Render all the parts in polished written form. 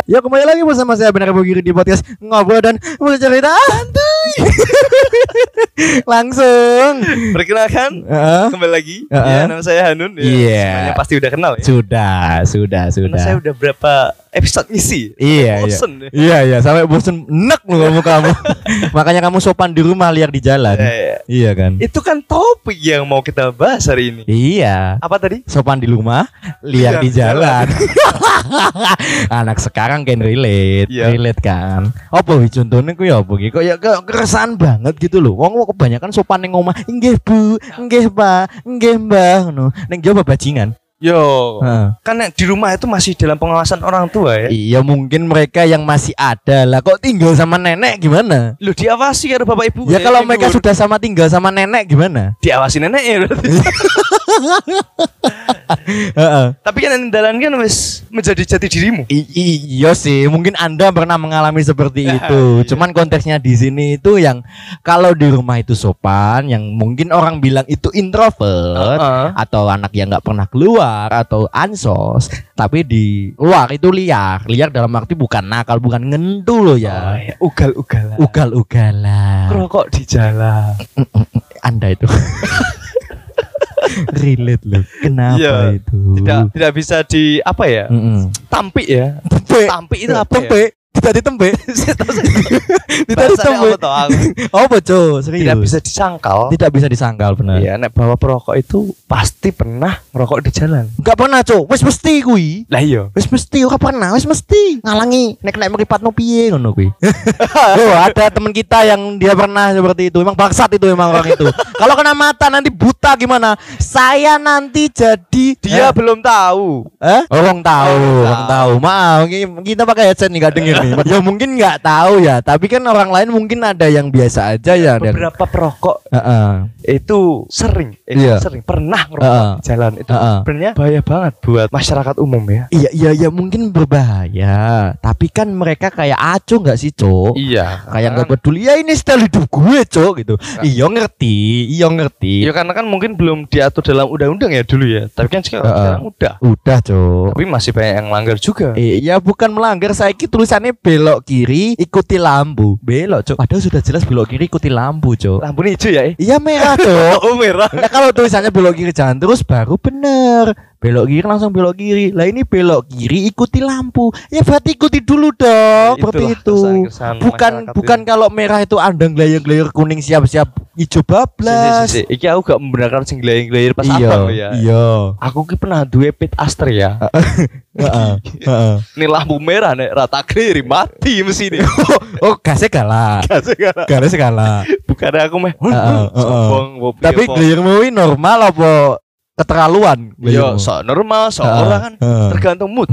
Ya kembali lagi bersama saya Benar Bugiri di podcast Ngobrol dan Bercerita Santuy. Langsung perkenalkan, kembali lagi. Ya, nama saya Hanun. Iya. Semuanya pasti udah kenal ya. Sudah. Karena saya udah berapa episode ngisi. Bosen. Iya, sampai bosen enek lu kamu. Makanya kamu sopan di rumah, liar di jalan. Iya kan? Itu kan topik yang mau kita bahas hari ini. Iya. Apa tadi? Sopan di rumah, liar di jalan. Anak sekarang kan relate, relate kan. Apa wi contone ku ya apa iki? Kok ya keresahan banget gitu loh. Wong kebanyakan sopan ning omah, nggih Bu, nggih Pak, nggih Mbah ngono. Ning jaba bajingan. Yo, kan di rumah itu masih dalam pengawasan orang tua ya. Iya, mungkin mereka yang masih ada lah. Kok tinggal sama nenek gimana? Lu diawasi ya bapak ibu. Ya kalau mereka sudah tinggal sama nenek gimana? Diawasi nenek ya berarti. Tapi kan andalan kan wis menjadi jati dirimu. Iya sih, mungkin Anda pernah mengalami seperti itu. Cuman konteksnya di sini itu yang kalau di rumah itu sopan, yang mungkin orang bilang itu introvert atau anak yang nggak pernah keluar atau ansos, tapi di luar itu liar dalam arti bukan nakal, bukan ngentu loh ya. Ugal-ugalan. Rokok di jalan. Anda itu relate loh. Kenapa itu? Tidak bisa di apa ya? Tampik ya. Tampik itu apa ya? Tidak ditempe. Tidak ditempe. Apa co? Serius. Tidak bisa disangkal. Tidak bisa disangkal benar. Iya, nek bawa perokok itu pasti pernah ngerokok di jalan. Enggak pernah, Cok. Wis mesti kuwi. Lah iya. Wis mesti ora pernah, wis mesti. Ngalangi nek mripatno piye ngono kuwi. Oh, ada teman kita yang dia pernah seperti itu. Emang bangsat itu emang orang itu. Kalau kena mata nanti buta gimana? Saya nanti jadi dia belum tahu. Orang tahu. Maaf, kita pakai headset nih enggak denger. Ya mungkin nggak tahu ya, tapi kan orang lain mungkin ada yang biasa aja ya. Beberapa perokok itu sering pernah ngerokok di jalan itu sebenarnya bahaya banget buat masyarakat umum ya. Iya mungkin berbahaya, tapi kan mereka kayak aco nggak sih Cok? Iya. Kayak nggak peduli ya ini style hidup gue Cok gitu. Iya ngerti. Iya karena kan mungkin belum diatur dalam undang-undang ya dulu ya, tapi kan sekarang udah Cok. Tapi masih banyak yang melanggar juga. Iya bukan melanggar, saya tulisannya belok kiri ikuti lampu. Belok Cok, padahal sudah jelas belok kiri ikuti lampu Cok. Lampu hijau ya? Iya merah Cok. Oh merah. Nah kalau tulisannya belok kiri jalan terus baru bener. Belok kiri langsung belok kiri. Lah ini belok kiri ikuti lampu. Ya berarti ikuti dulu dong. Seperti itu. Bukan kalau merah itu andang glayir-glayir, kuning siap-siap hijau bablas. Iki aku gak membenarkan sing glayir-glayir pas abang ya. Iya. Aku ki pernah duwe pit Aster ya. Ini lampu merah nek rata kiri mati mesin. Oh, gasnya kalah. Bukan aku meh. Tapi glayirmu ini normal apa keterlaluan? Yo, so normal, so orang kan tergantung mood.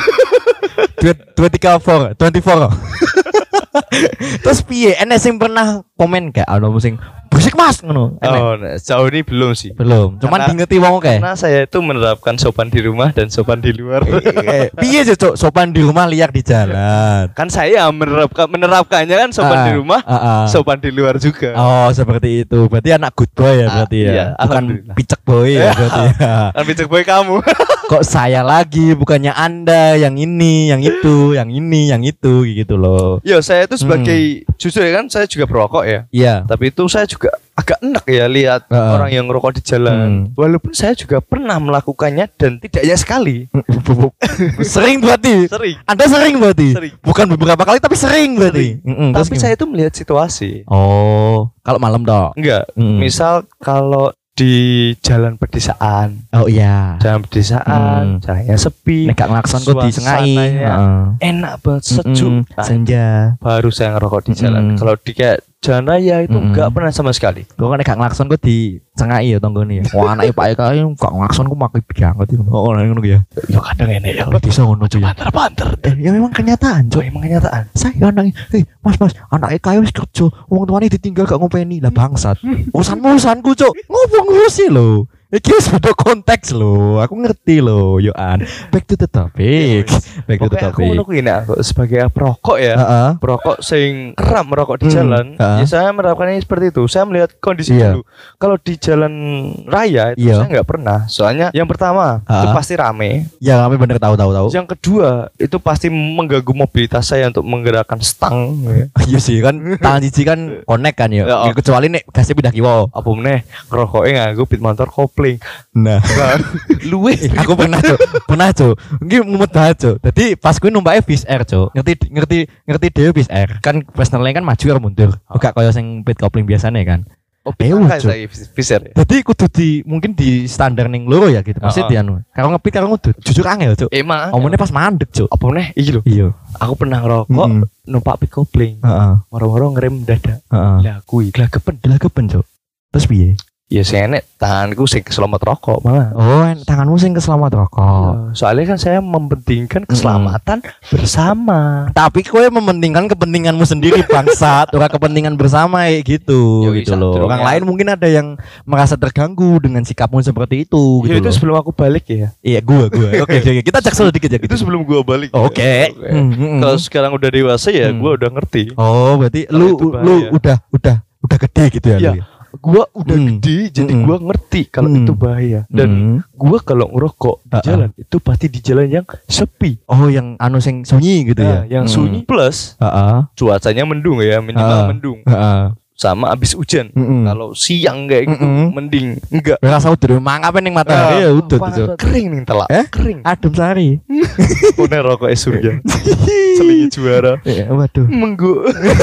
24. Terus piye? Enes sing pernah komen gak ono sing berisik Mas ngono? Jauh ini belum sih. Belum. Cuman diingeti wong oke. Karena saya itu menerapkan sopan di rumah dan sopan di luar. Piye sih Cok? Sopan di rumah liar di jalan. Kan saya menerapkannya kan sopan di rumah, sopan di luar juga. Oh, seperti itu. Berarti anak good boy ya berarti ya. Iya, bukan picek boy ya berarti ya. Kan picek boy kamu. Kok saya lagi, bukannya Anda yang ini, yang itu, yang ini, yang itu gitu loh. Yo, saya itu sebagai jujur ya kan saya juga perokok ya. Iya. Tapi itu saya juga agak enak ya lihat orang yang ngerokok di jalan. Walaupun saya juga pernah melakukannya dan tidak hanya sekali. Sering berarti. Sering. Anda sering berarti. Sering. Bukan beberapa kali tapi sering berarti. Tapi saya itu melihat situasi. Oh, kalau malam dong? Enggak. Misal kalau di jalan pedesaan. Oh iya. Jalan pedesaan, jalannya sepi. Nek gak ngelakson kok disengai. Enak banget, sejuk. Senja. Baru saya ngerokok di jalan. Kalau di kayak jalan raya itu enggak pernah sama sekali. Gue kan gak ngelakson kok disengai ya tonggone ya. Wah anake Pak Eka gak ngelakson kok makai banget itu. Oh ngono ya. Ya kadang enek ya. Bisa ngono cuy. Banter. Ya memang kenyataan, Cuk, emang kenyataan. Saya anaknya, Mas, anak Eka wis kerja, wong tuane ditinggal gak ngopeni. Lah bangsat. Urusanku, Cuk. Ngopo ngurusi lho. Iki wis beda konteks lho. Aku ngerti lho, Yoan. Back to the topic. Back to the topic. Aku menurut ini aku sebagai perokok ya. Perokok sing kerap merokok di jalan. Ya saya menerapkannya seperti itu. Saya melihat kondisi dulu. Kalau di jalan raya itu saya enggak pernah. Soalnya yang pertama itu pasti rame. Ya rame bener tahu. Yang kedua itu pasti mengganggu mobilitas saya untuk menggerakkan stang. Iya sih kan tangan cici kan connect kan ya. Kecuali nek gasnya pindah kiwa. Apa meneh ngerokoknya nganggo beat motor kopling. Nah, luwe aku pernah Cuk. Iki mumet banget, Cuk. Dadi pas kuwi numpake bis air, Cuk. Ngerti dhewe bis air. Kan personelnya kan maju karo mundur. Enggak kaya sing beat kopling biasane kan. Oh, saya bisa ya. Jadi kudu mungkin di standar ning loro ya gitu. Maksud anu. Karo ngepit karo ngudut. Jujur angel, Cuk. Emang. Omone pas mandek, Cuk. Apa meneh iki lho. Iya. Aku pernah ngerokok numpak beat kopling. Moro-moro ngerem dadak. Lah kuwi glagepen, Cuk. Terus piye? Ya sih enek tanganku sing keselamatan rokok malah. Oh, tanganmu sing keselamatan rokok. Soalnya kan saya mementingkan keselamatan bersama. Tapi kowe mementingkan kepentinganmu sendiri bangsat, ora kepentingan bersama gitu. Gitu loh. Orang lain mungkin ada yang merasa terganggu dengan sikapmu seperti itu gitu. Itu sebelum aku balik ya. Iya, gua. Oke. Kita jaksel dikit ya gitu. Itu sebelum gua balik. Oke. Kalau sekarang udah dewasa ya gua udah ngerti. Oh, berarti lu udah gede gitu ya. Gua udah gede jadi gua ngerti kalau itu bahaya dan gua kalau ngerokok di jalan itu pasti di jalan yang sepi. Oh, yang anu sing sunyi gitu ya. Yang sunyi plus cuacanya mendung ya, minimal mendung. Sama abis hujan. Kalau siang kayak gitu mending enggak. Rasa udah mangape ning matahari ya udah kering ning telak. Kering. Adem sari. Pone rokok surga. Selingi juara. Waduh. Menggo.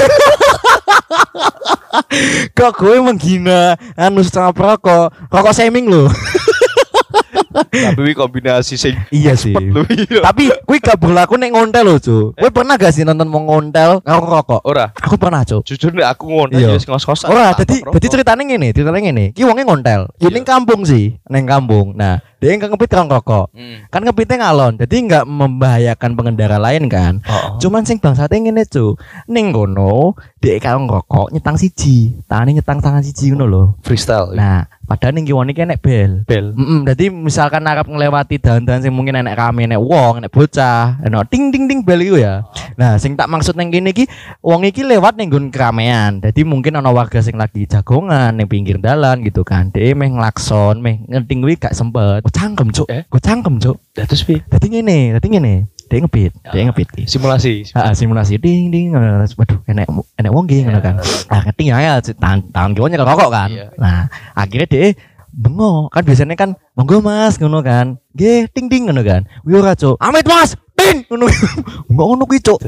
Kok gue menghina anu sama rokok shaming lo. Tapi kombinasi sing iya sih. Tapi gue gak berlaku nek ngontel lo, Cuk. Gue pernah gak sih nonton mau ngontel karo rokok? Ora. Aku pernah, Cuk. Jujur nek aku ngontel ya ngos-ngosan. Ora, dadi ceritane ngene. Ki wonge ngontel. Ya ning kampung sih, ning kampung. Nah, dia ngepit karo rokok. Kan ngepitnya ngalon, jadi enggak membahayakan pengendara lain kan. Cuman sing bangsate ngene, Cuk. Ning kono, dhek karo rokok nyetang siji. Tangane nyetang tangan siji ngono lho. Freestyle. Nah, padahal ning kiwane iki enek bel. Dadi misalkan arep nglewati dalan-dalan sing mungkin enek rame, enek wong, enek bocah, enek ting ting ting bel iku ya. Nah, sing tak maksud ning kene iki wong iki lewat ning nggon keramaian. Dadi mungkin ana warga sing lagi jagongan ning pinggir dalan gitu kan. Dhek meh nglakson, meh ngenting kuwi gak sempet. Gue cangkem, Cuk. Terus piye? Dadi ngene. Dia ngepit ki. Simulasi. Simulasi ding. Waduh, enek wong ki ngono kan. Keting ya tangan kiwanya rokok kan. Nah, akhirnya dia bengok kan biasanya kan monggo Mas ngono kan. Nggih, ting ting ngono kan. Wi ora, Cuk. Amit Mas, ting ngono. Ngono kuwi, Cuk.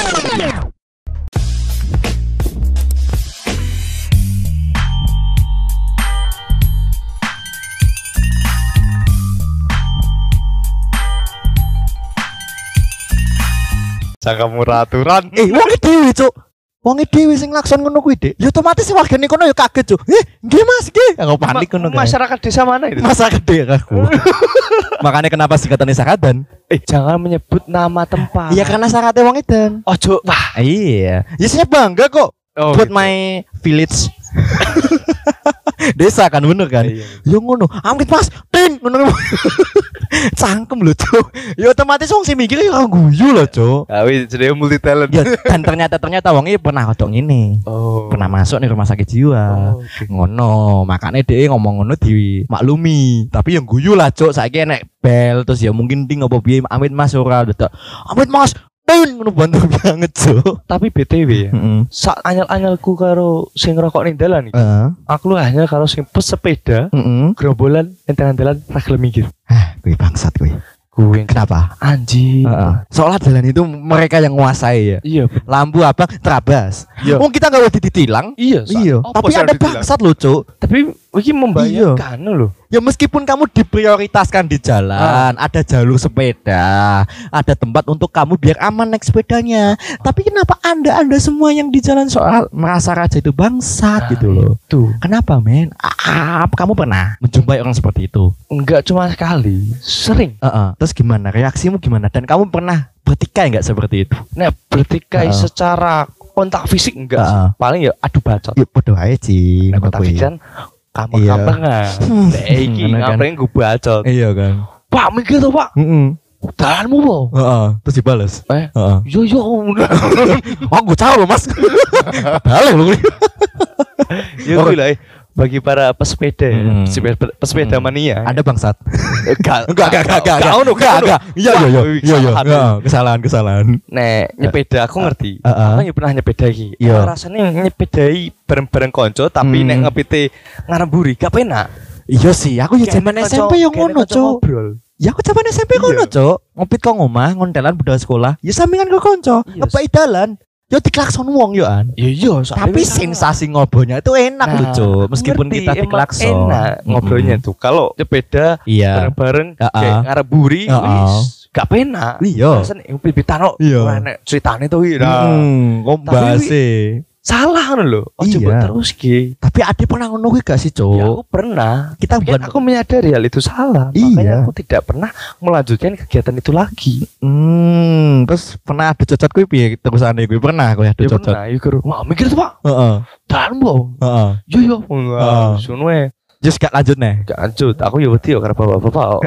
Kamu aturan. Wong dhewe, Cuk. Wong dhewe sing lakson ngono kuwi, Dik. Ya otomatis wargane kono ya kaget, Cuk. Nggih Mas, nggih. Aku panik ngono kan. Masyarakat desa mana itu? Masyarakat desa aku. Makanya kenapa singkatannya Sakadan? Jangan menyebut nama tempat. Iya karena Sakate wong edan. Ojo. Wah, iya. Ya saya bangga kok buat gitu. My village. Desa kan bener kan? Yo ngono. Amit Mas, ting ngono. Cangkem lho, Cuk. Ya otomatis wong sing mikir ya guyu lho, Cuk. Wis jenenge multi talent. Ya dan ternyata wong iki pernah kodok ngene. Pernah masuk nih rumah sakit jiwa. Ngono, makane dhek ngomong ngono dimaklumi. Tapi yang guyu lah, Cuk. Saiki enek bel terus ya mungkin ting apa piye Amit Mas ora dadak. Amit Mas ngono bantu banget, Cuk. Tapi BTW ya. Sak anyel-anyelku karo sing ngerokok ning dalan iki. Aku lu hanya karo sing pesepeda, gerombolan enteran dalan ra gelem minggir. Kuwi bangsat kuwi. Kenapa? Anjing. Soalnya jalan itu mereka yang menguasai ya. Iya. Lampu apa? Terabas. Wong kita enggak boleh ditilang. Iya. Tapi ada bangsat loh, Cuk. Tapi iki membahayakan loh. Ya meskipun kamu diprioritaskan di jalan, ada jalur sepeda, ada tempat untuk kamu biar aman naik sepedanya. Tapi kenapa Anda semua yang di jalan soal merasa raja itu bangsat gitu loh. Tuh. Kenapa, men? Kamu pernah menjumpai orang seperti itu? Enggak cuma sekali, sering. Terus gimana? Reaksimu gimana? Dan kamu pernah bertikai enggak seperti itu? Nah, bertikai secara kontak fisik enggak sih. Paling ya adu bacot. Ya bodoh aja sih. Kontak fisik kan kampeng-kampengan. Iki ngapain gue bacot. Iya kan. Pak mikir tuh Pak. Dalanmu po. Terus dibales. Yo. Gue tahu Mas. Balik lu. Ya gue lah. Bagi para pesepeda, pesepeda mania. Ada bangsat. Enggak. Iya. Kesalahan. Nek nyepeda aku ngerti. Aku ya pernah nyepeda iki. Rasanya nyepedai bareng-bareng konco tapi nek ngepite ngaremburi gak penak. Iya sih, aku ya zaman SMP yang ngono, Cuk. Ya aku zaman SMP ngono, Cuk. Ngopit kok ngomah, ngontelan budal sekolah. Ya sampingan ke konco, ngepai dalan. Yo diklakson wong yo an. Iya, tapi sensasi ngobrolnya itu enak loh, Cuk. Meskipun kita diklakson. Enak ngobrolnya tuh. Kalau sepeda bareng-bareng kayak ngaremburi wis gak penak. Iya. Rasane pipitano nek ceritane tuh kok bahase. Salah kan lho. Coba terus ki. Tapi ada pernah ngono kuwi gak sih, Cuk? Ya aku pernah. Aku menyadari hal itu salah. Makanya aku tidak pernah melanjutkan kegiatan itu lagi. Terus pernah ada cocot kuwi piye terusane kuwi? Pernah aku ada cocot. Pernah, iku. Wah, mikir tuh, Pak. Dan mbok. Yo. Sono wae. Just gak lanjut nih. Gak lanjut. Aku ya wedi karo bapak-bapak.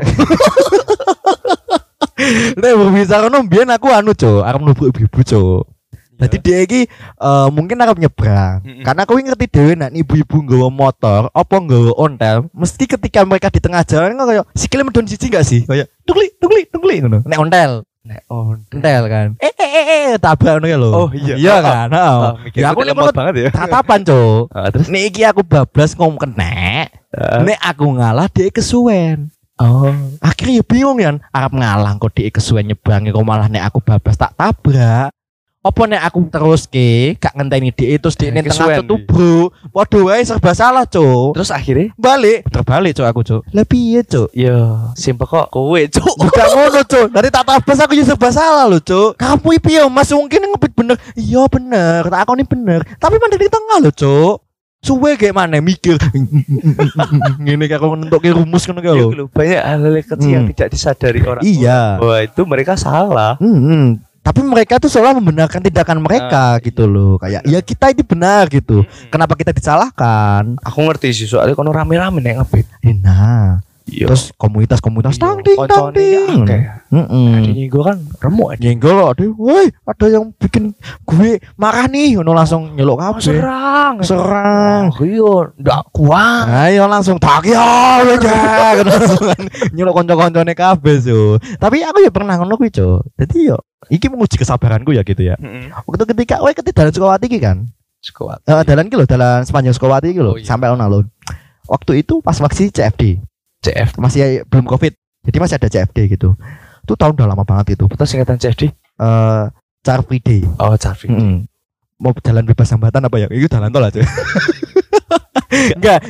Nek bisa kono mbiyen aku Cuk, arep mlebu ibu-ibu, Cuk. Jadi dia iki mungkin arep nyebrang. Karena aku ngerti dhewe nek ibu-ibu nggawa motor apa nggawa ontel, mesti ketika mereka di tengah jalan kok kayak sikile medun siji enggak sih? Kayak tukli ngono. Nek ontel kan. Tabrak ngono ya lho. Oh iya. Iya kan? Heeh. Ya aku lemot banget ya. Tatapan, Cuk. Terus nek iki aku bablas ngom kenek. Nek aku ngalah dia kesuwen. Akhirnya bingung ya, arep ngalah kok dia kesuwen nyebrang kok malah nek aku bablas tak tabrak. Apa nek aku terus gak ngenteni dhek terus dhek ning tengah tubruk. Padha wae serba salah, Cuk. Terus akhirnya terbalik, Cuk, aku, Cuk. Lah piye, Cuk? Ya, simpel kok kowe, Cuk. Bukan ngono, Cuk. Dari tak tabas aku ya serba salah lho, Cuk. Kamu piye, Mas? Mungkin ngepit bener. Iya bener, tak akoni bener. Tapi mandek di tengah lho, Cuk. Suwe kayak mana mikir ngene kayak aku nentuke rumus ngono kae lho. Banyak hal-hal kecil yang tidak disadari orang. Iya. Bahwa itu mereka salah. Tapi mereka tuh seolah membenarkan tindakan mereka gitu loh. Kayak ya kita ini benar gitu. Kenapa kita disalahkan? Aku ngerti sih soalnya kono rame-rame nek ngebit. Nah. Terus komunitas tang ding. Ini gue kan remuk aja. Nyenggol loh, woi ada yang bikin gue marah nih, ngono langsung nyeluk kabeh. Serang. Iya, ndak kuat. Ayo langsung tak ya aja. Langsung nyeluk kanca-kancane kabeh, so. Tapi aku ya pernah ngono kuwi, Cuk. Dadi yo iki menguji kesabaranku ya gitu ya. Waktu ketika kowe dalan Sukawati iki kan. Sukawati. Dalan ki lho, dalan sepanjang Sukawati iki lho, sampai alun-alun. Waktu itu pas vaksin CFD masih belum COVID, jadi masih ada CFD gitu. Itu tahun udah lama banget itu. Betul singkatan CFD? Car Free Day. Oh, Car Free Day. Mau jalan bebas hambatan apa ya? Itu jalan tol aja. Enggak,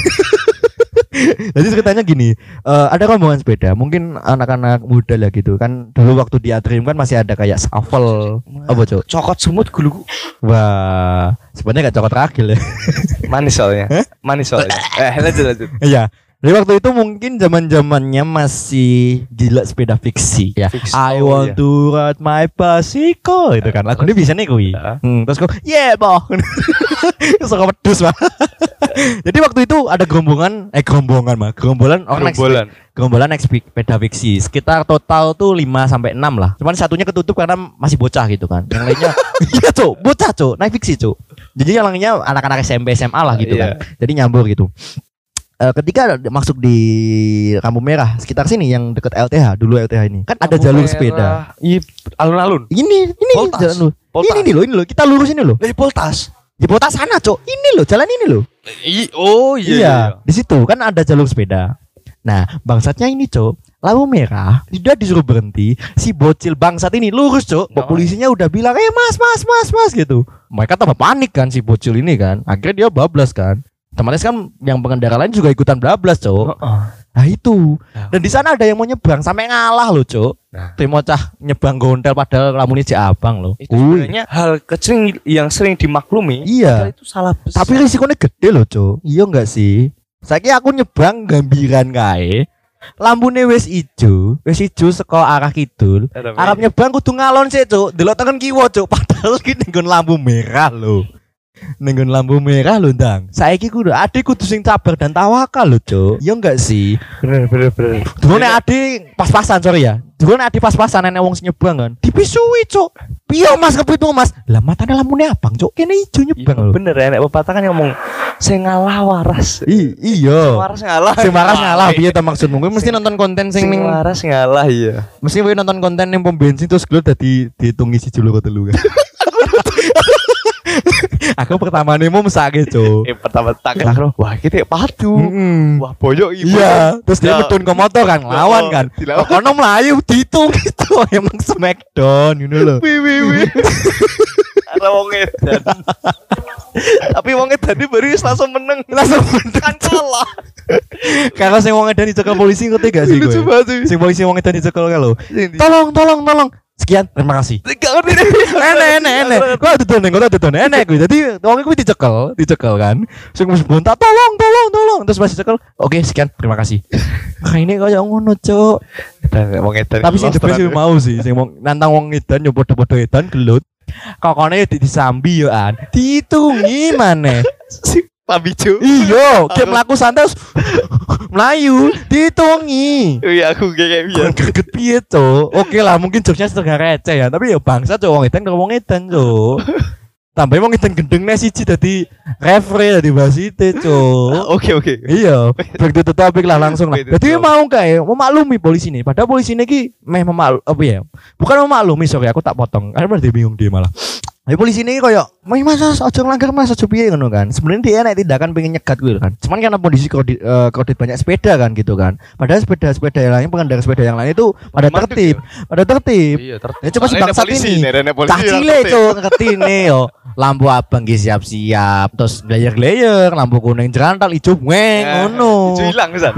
jadi ceritanya gini, ada rombongan sepeda, mungkin anak-anak muda lah gitu kan. Dulu waktu di Atrium kan masih ada kayak shuffle, apa Cok? Cokot semut gulu. Wah, sebenarnya gak cokot ragil ya. Manis soalnya. Lanjut. Iya. Jadi waktu itu mungkin zaman-zamannya masih gila sepeda fiksi ya. I want to ride my bicycle itu kan. Lagu ini bisa nih kui. Terus kok boh. Suka pedus mah. Jadi waktu itu ada gerombolan orang naik sepeda fiksi. Sekitar total tuh 5 sampai 6 lah. Cuman satunya ketutup karena masih bocah gitu kan. Yang lainnya iya, Cuk, bocah, Cuk, naik fiksi, Cuk. Jadi yang lainnya anak-anak SMP SMA lah gitu kan. Jadi nyambur gitu. Ketika masuk di Lampu Merah sekitar sini yang dekat LTH dulu LTH ini kan ada jalur sepeda. Alun-alun. Ini jalan ini loh kita lurus ini loh. Poltas. Di Poltas sana, Cok. Ini loh, jalan ini loh. Iya. Di situ kan ada jalur sepeda. Nah, bangsatnya ini, Cok. Lampu merah, sudah disuruh berhenti. Si bocil bangsat ini lurus, Cok. Polisinya udah bilang, mas gitu. Mereka tambah panik kan si bocil ini kan. Akhirnya dia bablas kan. Otomatis kan yang pengendara lain juga ikutan bablas, Cok. Nah itu. Dan di sana ada yang mau nyebrang sampai ngalah loh, Cok. Timocah nyebrang gondel padahal lampunya si abang loh. Itu sebenarnya hal kecil yang sering dimaklumi. Iya. Itu salah besar. Tapi risikonya gede loh, Cok. Iya enggak sih? Saiki aku nyebrang gambiran kae. Lampune wis ijo saka arah kidul. Arep nyebrang kudu ngalon sih, Cuk. Delok tekan kiwa, Cuk. Padahal ki nggon lampu merah lho. Nenggon lampu merah lho, Ndang. Saiki kudu ade kudu sing sabar dan tawakal lho, Cuk. Ya enggak sih? Bener. Dulu nek ade pas-pasan, sorry ya. Dulu nek ade pas-pasan nek wong sing nyebrang kan. Dipisui, Cuk. Piye Mas kepitu Mas? Lah matane lampune abang, Cuk. Kene ijo nyebrang lho. Bener ya nek pepatah kan ngomong sing ngalah waras. Iya. Waras ngalah. Sing waras ngalah piye to maksudmu? Kowe mesti nonton konten sing ning waras ngalah iya. Mesti kowe nonton konten ning pom bensin terus glot dadi dihitungi 1 loro 3 kan. Aku pertama nih mau mesake, Cuk. Pertama tak wah kita padu. Wah boyok ibu. Iya, terus dia medun ke motor kan, lawan kan. Kono melayu ditung gitu, emang smackdown you know lho. Wi. Ada wong edan. Tapi wong edan iki baru langsung menang kan kalah. Kalau sing wong edan dicekel polisi ngerti gak sih kowe? Sing polisi wong edan dicekel kalau. Tolong. Sekian, terima kasih. Gak ngerti deh. Enek. Kok dudun enek kuwi. Dadi wong kuwi dicekel kan. Sing wis bontak tolong. Terus pas dicekel, oke sekian, terima kasih. Ini koyo ngono, Cuk. Wong edan. Tapi sing debes mau sih, sing nantang wong edan yo padha-padha edan gelut. Kokone disambi yo an. Diitungi maneh. Si Pabijo. Iya, kayak mlaku santai Melayu dihitungi. Iya aku kayak biasa. Kaget piye, Cuk? Oke lah, mungkin jokesnya setengah receh ya, tapi ya bangsa, Cuk, wong edan karo wong edan, Cuk. Tambah wong edan gendeng siji dadi referee dadi wasite, Cuk. Oke. Iya, begitu to topik lah langsung lah. Jadi mau kae memaklumi polisi ini. Padahal polisi ini ki meh apa ya? Bukan memaklumi, sorry aku tak potong. Karena dia bingung dia malah. Polisi ini koyo, Mas aja nglanggar Mas, aja piye ngono kan. Sebenarnya dia nek tindakan pengen nyegat kuwi kan. Cuman karena kondisi kredit banyak sepeda kan gitu kan. Padahal sepeda yang lain, pengendara sepeda yang lain itu pada tertib. Iya, tertib. Ya coba si bangsat ini. Cah cilik, Cuk, ngertine yo. Lampu abang ki siap-siap, terus glayer-glayer, lampu kuning jerantal ijo weng ngono. Ijo ilang pisan.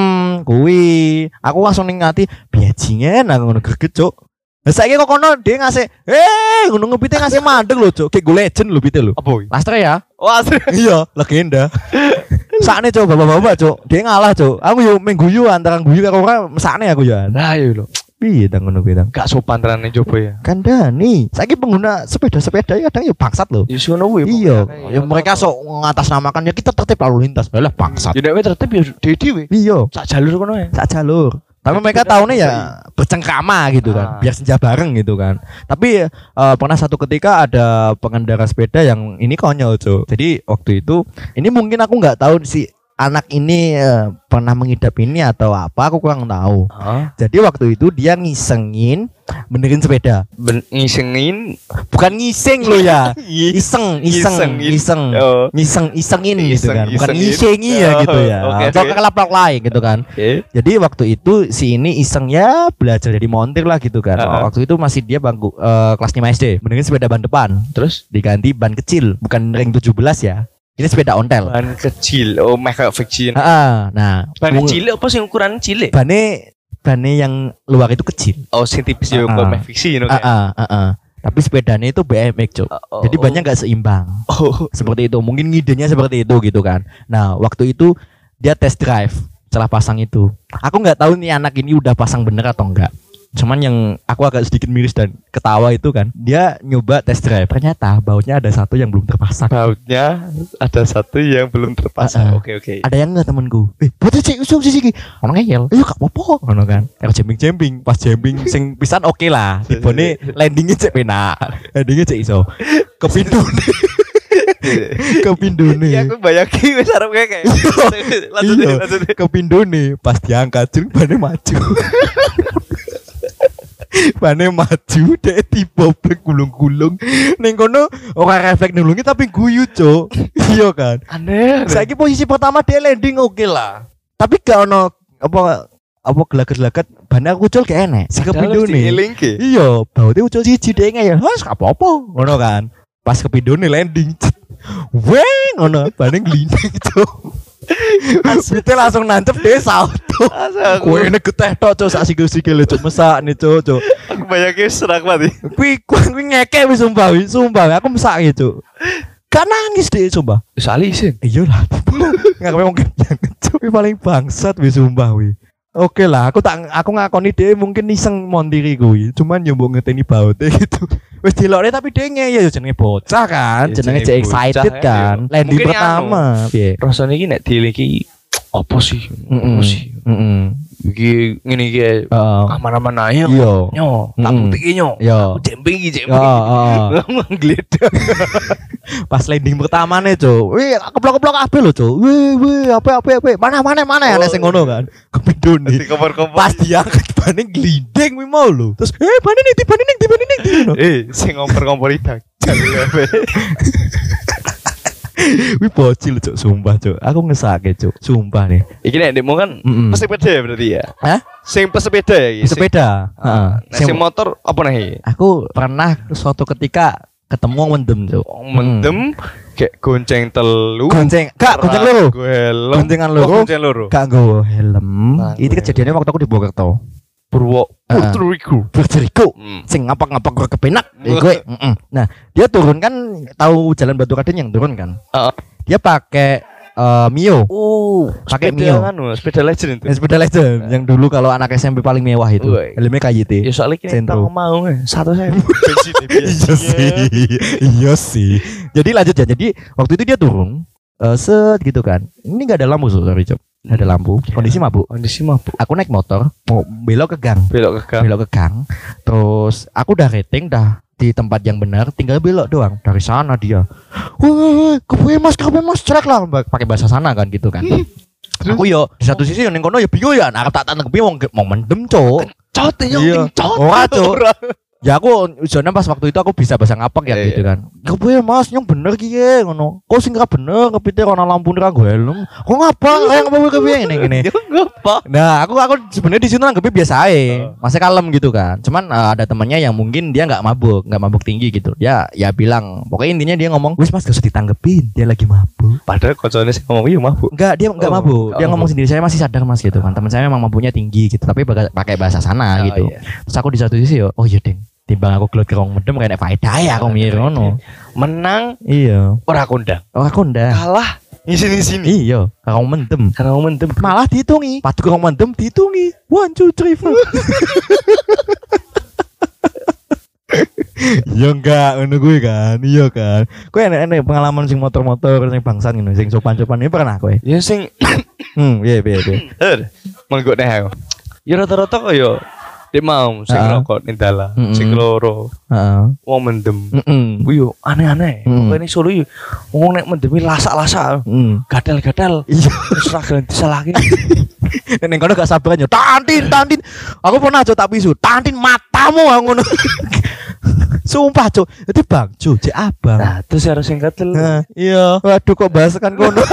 Kuwi. Aku langsung ning ati, bajingan aku ngono greget, Cuk. Lah saiki kok kono dia ngasih, ngono ngepite ngasih mandeg lho, Cuk. Kayak Go Legend lho pite lho. Apa? Lastre ya? Oh, asli. Iya, legenda. Sakne, Cuk, bapak-bapak, Cuk. Dia ngalah, Cuk. Aku yo mengguyu antara guyu karo ora mesakne aku ya. Nah, iya lho. Piye tang ngono kuwi tang? Gak sopan terane coba ya. Kandhani. Saiki pengguna sepeda-sepeda ya kadang yo bangsat lho. Ya sono kuwi. Iya, ya mereka sok ngatasnamakan ya kita tertib lalu lintas. Lah bangsat. Ya nek tertib ya dhewe. Iya. Sak jalur kono ya. Sak jalur. Tapi mereka tahunya ya bercengkrama gitu kan, biar senja bareng gitu kan. Tapi pernah satu ketika ada pengendara sepeda yang ini konyol, Cuk. Jadi waktu itu, ini mungkin aku nggak tahu si anak ini pernah mengidap ini atau apa, aku kurang tahu. Jadi waktu itu dia ngisengin benerin sepeda. Ngisengin? Bukan ngiseng lo ya. Isengin gitu kan. Bukan ngisengi ya gitu ya. Atau kelap-kelap lain gitu kan. Jadi waktu itu si ini iseng ya belajar jadi montir lah gitu kan. Waktu itu masih dia bangku kelas 5 SD. Benerin sepeda ban depan. Terus diganti ban kecil, bukan ring 17 ya. Ini sepeda ontel. Ban kecil. Oh, kayak fiction. Nah, ban kecil apa sih ukuran cilik? Bannya yang luar itu kecil. Oh, sing tipis yo kok fiksi ngono kan. Tapi sepedanya itu BMX, Cuk. Jadi bannya enggak seimbang. Seperti itu. Mungkin ngidenya seperti itu gitu kan. Nah, waktu itu dia test drive setelah pasang itu. Aku enggak tahu nih anak ini udah pasang bener atau enggak. Cuman yang aku agak sedikit miris dan ketawa itu kan, dia nyoba test drive. Ternyata bautnya ada satu yang belum terpasang. Oke. Ada yang enggak temanku? Bautnya cek usung sih. Ono ngeyel. Ayo gak apa-apa. Ono kan. Kalau jembing. Pas jembing sing pisan oke lah. Tibone landingnya cek penak. Landingnya cek iso. Kepindune. Ya aku bayangin wis arep kayak. Lanjut. Kepindune pas diangkat jeng bane maju. Bane maju dek tiba gulung-gulung ning kono ora refleks nulungi tapi guyu, Cuk. Iya kan. Aneh. Saiki posisi pertama dia landing oke lah. Tapi gak ono apa gelagat-gelagat bane aku ucul gak enek. Si kepindone. Iya, baute ucul siji dek ngeyel. Wes gak apa-apa. Ngono kan. Pas kepindone landing. Weng ngono bane glinding, Cuk. Asite langsung nancep desa auto. Kowe nek geteh tok, Cuk, sak sikil-sikil Cuk, mesak nih, Cuk. Aku bayangke serak mati. Kuwi ngeke wis sumpah. Aku mesak Cuk. Gak nangis deh sumpah. Sali isin. Iya lah. Enggak mungkin Cuk. Paling bangsat wis sumpah wi. Oke lah, aku ngakoni dhewe mungkin iseng mondiri kuwi, cuman yo mbok ngeteni baute gitu. Wis dilokne tapi dia ya jenenge bocah kan, jenenge cek excited kan. Landing pertama, piye? Rasane iki nek diliki apa sih? Apa sih? Iki ngene iki aman-aman ae. Nyo, tak bukti nyo. Jemping iki jemping. Ngledak. Pas landing pertamane, Cuk. Wih, keplok-keplok kabeh lho, Cuk. Wih, apa. Mana ana sing ngono kan. Kepindun nih. Pas diangkat bane glinding kuwi mau lho. Terus, bane ning di. Sing ngompor-ngompor idang. Wih bocil Cuk, sumpah Cuk. Aku ngesake Cuk, sumpah nih. Iki nek ndekmu kan pesepeda ya berarti ya? Hah? Sing pesepeda ya iki. Pesepeda. Heeh. Sing motor apa nih? Aku pernah suatu ketika ketemu mendem Cuk. Mendem kayak gonceng telu. Gonceng loro. Goncengan loro. Gak nggo helm. Itu kejadiannya waktu aku di Purwokerto. Purwokerto. Sing ngapak-ngapak gue kepenak. Gue. Nah, dia turun kan tahu jalan Batu Raden yang turun kan. Dia pakai Mio. Pakai Mio. Sepeda legend itu. Sepeda legend yang dulu kalau anak SMP paling mewah itu. Helmnya KYT. Ya soalnya kita mau 1.000. Iya sih. Jadi lanjut ya. Jadi waktu itu dia turun gitu kan. Ini enggak ada lampu sorry Cok. Nggak ada lampu. Kondisi mabuk. Aku naik motor mau belok ke gang. Terus aku udah rating dah di tempat yang benar, tinggal belok doang. Dari sana dia. Wah, kepe mas cerak lah pakai bahasa sana kan gitu kan. Aku yo di satu sisi yang kono ya bingung ya. Nah, tak kepi mau mendem, Cok. Ora, Cok. Ya aku jane pas waktu itu aku bisa bahasa ngapak ya gitu kan. Kepiye Mas, yang bener ki ngono. Kok sing ra bener kepite ana lampu ra nggo helm. Kok ngapa? Kayak ngapa kepiye ngene. Ngapa? Nah, aku sebenarnya di situ nanggepi biasa ae. Masih kalem gitu kan. Cuman ada temannya yang mungkin dia enggak mabuk tinggi gitu. Ya bilang, pokoknya intinya dia ngomong, "Wis Mas, gak usah ditanggepin, dia lagi mabuk." Padahal koncone sing ngomong iya mabuk. Enggak, dia enggak mabuk. Dia ngomong sendiri, "Saya masih sadar Mas" gitu kan. Teman saya memang mabuknya tinggi gitu, tapi pakai bahasa sana gitu. Terus aku di satu sisi yo, "Oh iya, Ding. Timbang aku gelut kerong mendem kayak faedah ya aku mikir ngono." Menang iya ora kondang. Kalah ngisi-sini. Iya, kerong mendem. Malah dihitungi. Padu kerong mendem dihitungi. 1 2 3 4. Ya enggak ngono gue kan. Iya kan. Kowe enek pengalaman sing motor-motor sing bangsan ngono, sing sopan-sopan ini pernah kowe? Ya sing iya. Menggo nek aku. Ya rata-rata koyo dia mau sing rokok ning dalan, sing loro. Wong mendem. Kuwi yo aneh-aneh. Pokoke Solo yo wong nek mendemi lasak-lasak. Gadal-gadal. Terus ra gelem disalahke. Nek kono gak sabaran yo. Tantin. Aku pernah Cuk tak pisu. Tantin matamu ngono. Sumpah Cuk. Dadi Bang Cuk, cek abang. Nah, terus harus sing ketel. Iya. Waduh kok bahas kan kono.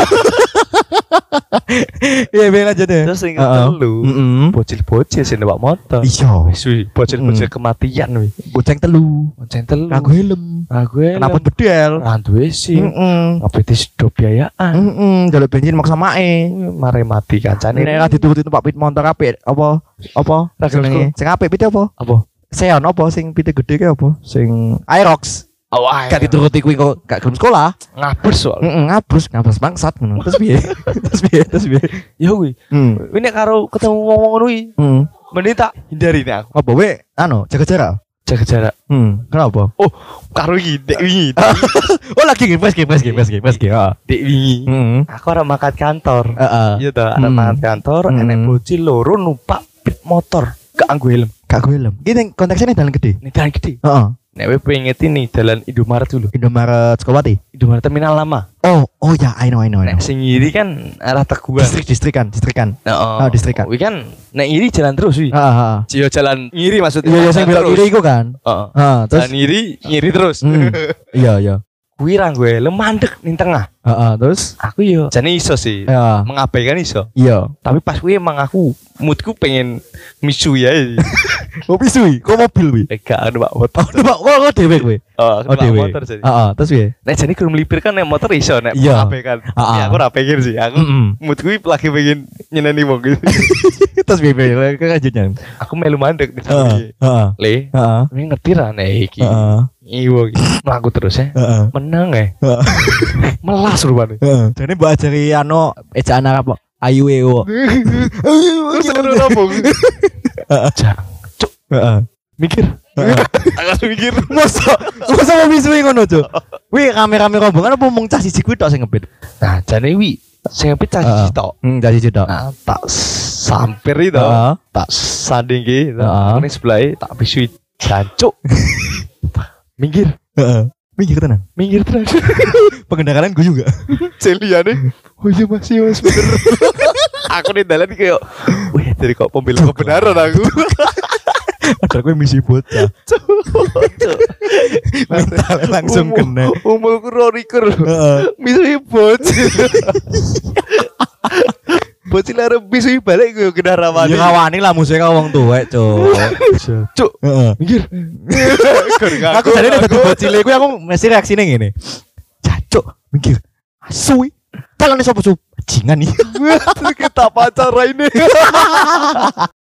Iya bener aja deh. Terus ingat telu bocil-bocil sing numpak motor. Iya. Bocil-bocil kematian wi. Bonceng telu. Kanggo helm. Kenapa bedel? Randuwe sing. Apa disedot biayaan. Jaluk bensin maksa mae. Mare mati kancane. Nek ra dituruti numpak pit motor apik apa? Jenenge? Sing apik pite apa? Seon apa sing pite gede ki apa? Sing Aerox. Gak dituruti kuwi kok gak gelem sekolah. Ngabers soal. Ngabers bangsat ngono. Terus piye? Ya kuwi. Kuwi nek karo ketemu wong-wong ngono kuwi. Mending tak hindari nek aku. Apa we jaga jarak. Kenapa? Oh, karo iki dek wingi. Oh, lagi ngepres. Dek wingi. Aku ora mangkat kantor. Iya to, ada mangkat kantor, enek bocil loro numpak motor. Gak nganggo helm. Gini konteksnya nih dalan gede. Heeh. Nek kowe pengen nih dalan Indomaret dulu. Indomaret Sukawati. Indomaret Terminal Lama. Oh ya, I know. Nek sing ngiri kan arah Teguhan. Distrikan. Distrikan. Kuwi kan nek ngiri jalan terus wi. Heeh. Jalan ngiri maksudnya. Iya, sing belok kiri iku kan. Terus jalan ngiri terus. Iya. Kuwi ra nggo helm mandek ning tengah. Terus aku yo jane iso sih. Mengabaikan iso. Iya. Tapi pas kuwi emang aku moodku pengen misu ya. Oh pisui, kok mobil wi? Gak ada Pak motor. Kok dhewe kowe? Dhewe. Motor jadi. Terus piye? Nek jane kurang melipir kan nek motor iso nek mengabaikan. Ya aku ora pengen sih. Aku moodku lagi pengen nyeneni wong gitu. Terus piye lanjutnya? Aku melu mandek di sini. Le. Ini ngerti ra nek iki. Iwo mlaku terus ya. Menang ya. Melas rupane. Jane mbok ajari ejaan Arab kok. Ayu ewo. Terus ngono rombong. Jancuk. Mikir. Agak mikir. Masa mau misui ngono, Cuk. Wi rame-rame rombongan apa mung cah siji kuwi tok sing ngebit. Nah, jane wi sing ngebit cah siji tok. Cah siji tok. Nah, tak sampir itu. Tak sanding ki, ngene sebelah tak bisui jancuk. Minggir. Minggir tenan. Pengendaraanku juga. Celiane. Oh iya Mas bener. Aku di dalan kayak wih dari kok pembela kebenaran aku. Ada gue misi bocah. Mental langsung kena. Umurku roriker. Misi bocah. Bocil arep bisu balik gue kena rawani. Ya rawani lah musuhnya wong tuwek, Cuk. Cuk. Minggir. Aku jane nek dadi bocil iku aku mesti reaksine ngene. Cuk, minggir. Asui. Talane sapa, Cuk? Bajingan iki. Kita pacar ini.